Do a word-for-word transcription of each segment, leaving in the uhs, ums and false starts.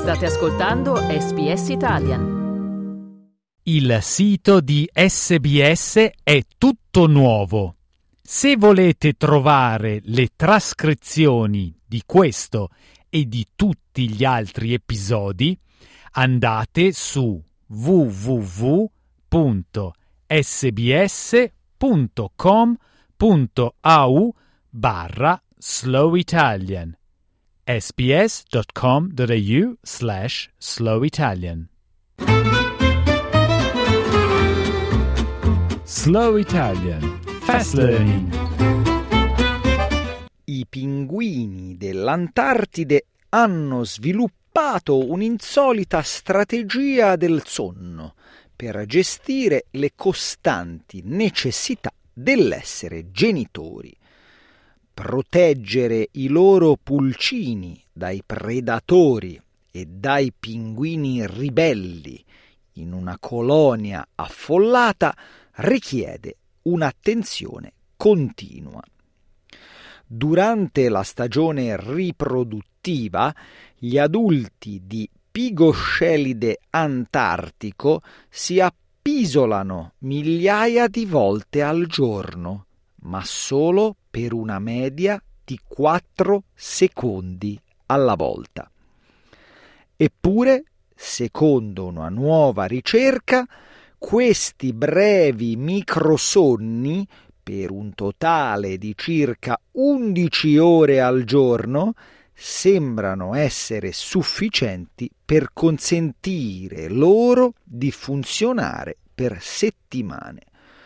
State ascoltando S B S Italian. Il sito di S B S è tutto nuovo. Se volete trovare le trascrizioni di questo e di tutti gli altri episodi, andate su w w w punto s b s punto com punto a u barra slow italian sbs.com.au slash slow Italian. Slow Italian. Fast Learning. I pinguini dell'Antartide hanno sviluppato un'insolita strategia del sonno per gestire le costanti necessità dell'essere genitori. Proteggere i loro pulcini dai predatori e dai pinguini ribelli in una colonia affollata richiede un'attenzione continua. Durante la stagione riproduttiva, gli adulti di Pigoscelide antartico si appisolano migliaia di volte al giorno, ma solo per una media di quattro secondi alla volta. Eppure, secondo una nuova ricerca, questi brevi microsonni, per un totale di circa undici ore al giorno, sembrano essere sufficienti per consentire loro di funzionare per settimane.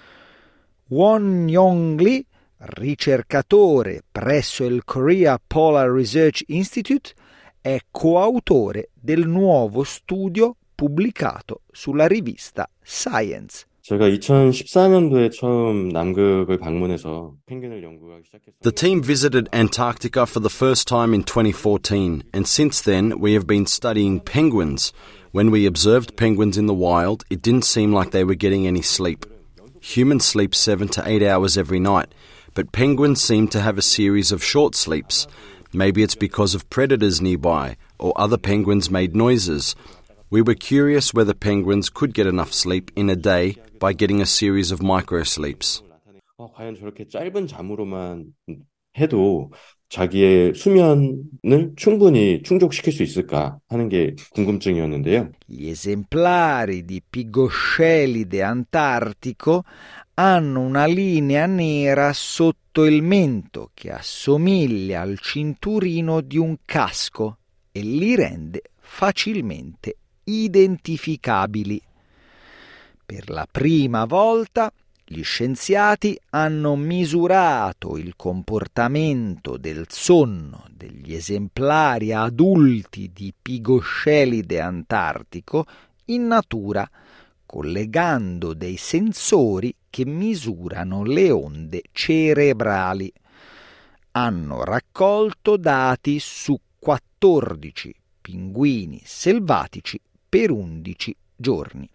Won Yong-lee, ricercatore presso il Korea Polar Research Institute, è coautore del nuovo studio pubblicato sulla rivista Science. 제가 이천십사 년도에 처음 남극을 방문해서 펭귄을 연구하기 시작했어요. The team visited Antarctica for the first time in twenty fourteen, and since then we have been studying penguins. When we observed penguins in the wild, it didn't seem like they were getting any sleep. Humans sleep seven to eight hours every night, but penguins seem to have a series of short sleeps. Maybe it's because of predators nearby, or other penguins made noises. We were curious whether penguins could get enough sleep in a day by getting a series of microsleeps. 어, 과연 저렇게 짧은 잠으로만 해도 자기의 수면을 충분히 충족시킬 수 있을까 하는 게 궁금증이었는데요. Gli esemplari di Pigoscelide antartico hanno una linea nera sotto il mento che assomiglia al cinturino di un casco e li rende facilmente identificabili. Per la prima volta gli scienziati hanno misurato il comportamento del sonno degli esemplari adulti di Pigoscelide antartico in natura, collegando dei sensori che misurano le onde cerebrali. Hanno raccolto dati su quattordici pinguini selvatici per undici giorni.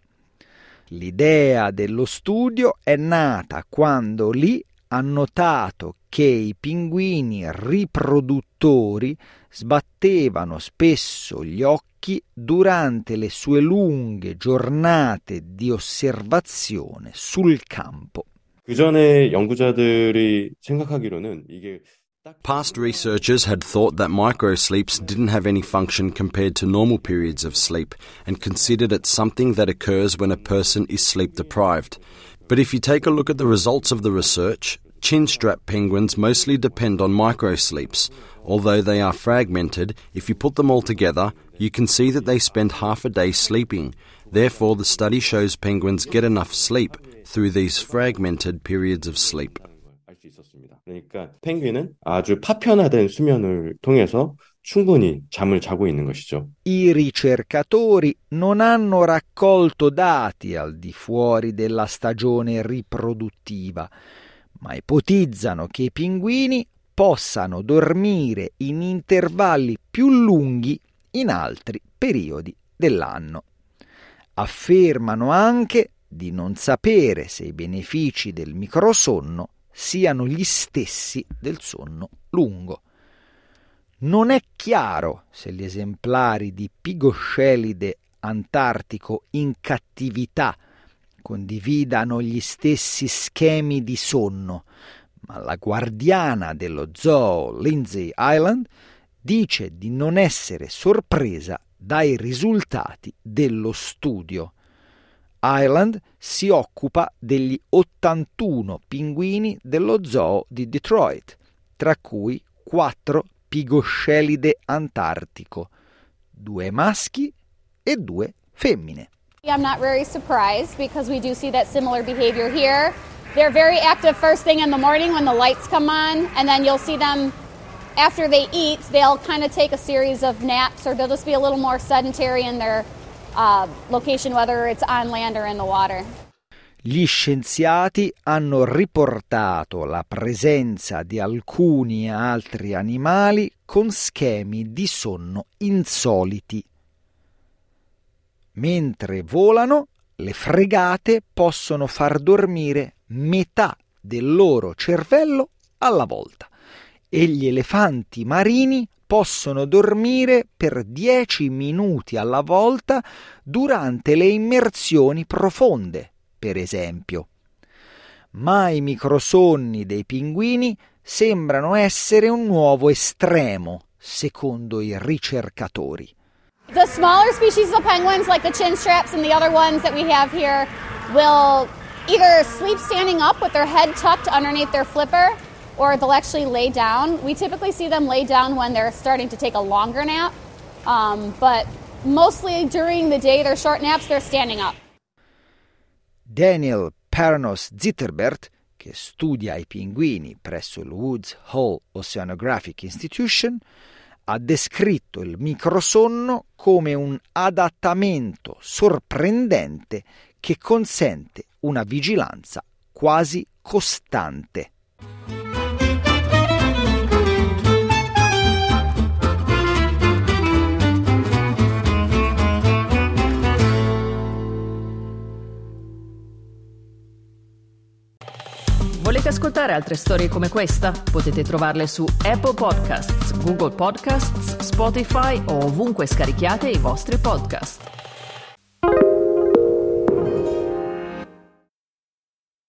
L'idea dello studio è nata quando Lee ha notato che i pinguini riproduttori sbattevano spesso gli occhi durante le sue lunghe giornate di osservazione sul campo. 그 전에 연구자들이 생각하기로는 이게 Past researchers had thought that microsleeps didn't have any function compared to normal periods of sleep and considered it something that occurs when a person is sleep deprived. But if you take a look at the results of the research, chinstrap penguins mostly depend on microsleeps. Although they are fragmented, if you put them all together, you can see that they spend half a day sleeping. Therefore, the study shows penguins get enough sleep through these fragmented periods of sleep. 그러니까 펭귄은 아주 파편화된 수면을 통해서 충분히 잠을 자고 있는 것이죠. I ricercatori non hanno raccolto dati al di fuori della stagione riproduttiva, ma ipotizzano che i pinguini possano dormire in intervalli più lunghi in altri periodi dell'anno. Affermano anche di non sapere se i benefici del microsonno siano gli stessi del sonno lungo. Non è chiaro se gli esemplari di Pigoscelide antartico in cattività condividano gli stessi schemi di sonno, ma la guardiana dello zoo Lindsay Ireland dice di non essere sorpresa dai risultati dello studio. Ireland si occupa degli ottantuno pinguini dello zoo di Detroit, tra cui quattro Pigoscelide antartico, due maschi e due femmine. I'm not very surprised because we do see that similar behavior here. They're very active first thing in the morning when the lights come on, and then you'll see them after they eat, they'll kind of take a series of naps, or they'll just be a little more sedentary in their uh, location, whether it's on land or in the water. Gli scienziati hanno riportato la presenza di alcuni altri animali con schemi di sonno insoliti. Mentre volano, le fregate possono far dormire metà del loro cervello alla volta e gli elefanti marini possono dormire per dieci minuti alla volta durante le immersioni profonde, per esempio. Ma i microsonni dei pinguini sembrano essere un nuovo estremo, secondo i ricercatori. The smaller species of penguins, like the chinstraps and the other ones that we have here, will either sleep standing up with their head tucked underneath their flipper, or they'll actually lay down. We typically see them lay down when they're starting to take a longer nap, um, but mostly during the day, their short naps, they're standing up. Daniel Paranos Zitterbert, che studia i pinguini presso il Woods Hole Oceanographic Institution, ha descritto il microsonno come un adattamento sorprendente che consente una vigilanza quasi costante. Volete ascoltare altre storie come questa? Potete trovarle su Apple Podcasts, Google Podcasts, Spotify o ovunque scarichiate i vostri podcast.